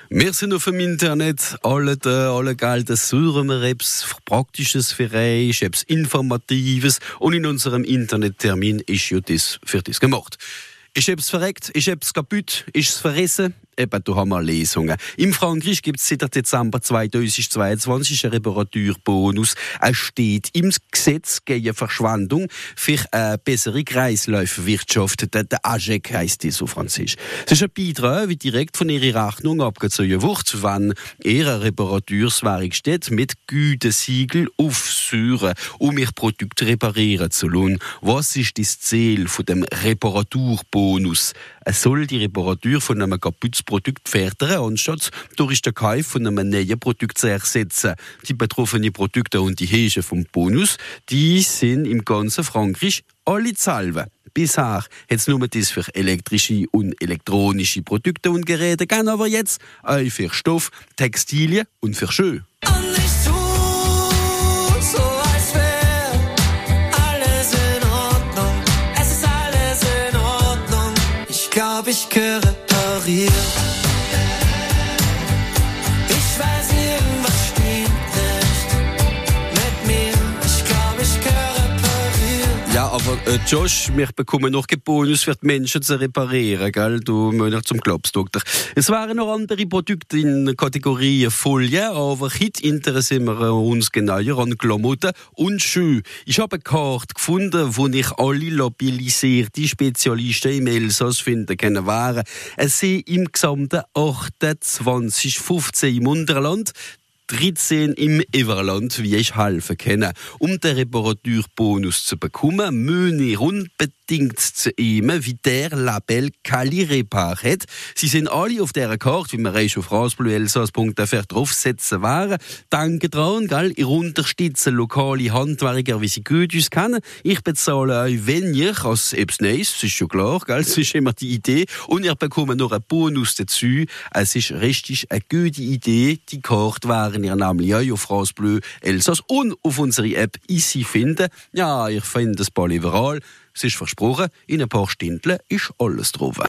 Wir sind auf dem Internet, alle Geld suchen wir etwas Praktisches für euch, etwas Informatives und in unserem Internettermin ist ja das für das gemacht. Ist etwas verreckt, ist etwas kaputt, ist es verrissen? Eben, da haben wir Lesungen. In Frankreich gibt es seit Dezember 2022 einen Reparaturbonus. Es steht im Gesetz gegen Verschwendung für eine bessere Kreislaufwirtschaft. Der AGEC heisst das auf Französisch. Es ist ein Beitrag, wie direkt von Ihrer Rechnung abgezogen wird, wenn Ihre Reparaturswerkstatt mit Gütesiegel aufsäuren, um Ihr Produkt reparieren zu lassen. Was ist das Ziel von dem Reparaturbonus? Es soll die Reparatur von einem kaputten Produkt fördern, anstatt durch den Kauf von einem neuen Produkt zu ersetzen. Die betroffenen Produkte und die Höhe vom Bonus, die sind im ganzen Frankreich alle dieselben. Bisher hat es nur das für elektrische und elektronische Produkte und Geräte gegeben, aber jetzt auch für Stoff, Textilien und für Schuhe. Ich gehöre repariert. Ich weiß, irgendwas stimmt nicht mit mir. Ich glaube, ich gehöre repariert. Ja, aber Josh, wir bekommen noch keinen Bonus für die Menschen zu reparieren, gell? Du musst noch zum Klopsdoktor. Es waren noch andere Produkte in der Kategorie Folie, aber heute interessieren wir uns genauer an Klamotten und Schuhe. Ich habe eine Karte gefunden, wo ich alle labellisierte Spezialisten im Elsass finden können. Es sind im gesamten 28, 15 im Unterland, 13 im Everland, wie ich helfen kann. Um den Reparaturbonus zu bekommen, müssen ich unbedingt zu ihm, wie der Label Cali Repar hat. Sie sind alle auf dieser Karte, wie wir auf francebleuelsass.fr draufsetzen waren. Danke dran, gell? Ihr unterstützt lokale Handwerker, wie sie gut uns kennen. Ich bezahle euch weniger als etwas Neues, das ist schon klar, gell? Das ist immer die Idee. Und ihr bekommt noch einen Bonus dazu. Es ist richtig eine gute Idee. Die Karte wären ihr nämlich auch auf France Bleu Elsass und auf unserer App easy finden. Ja, ich finde das bald überall. Es ist versprochen, in ein paar Stunden ist alles drauf.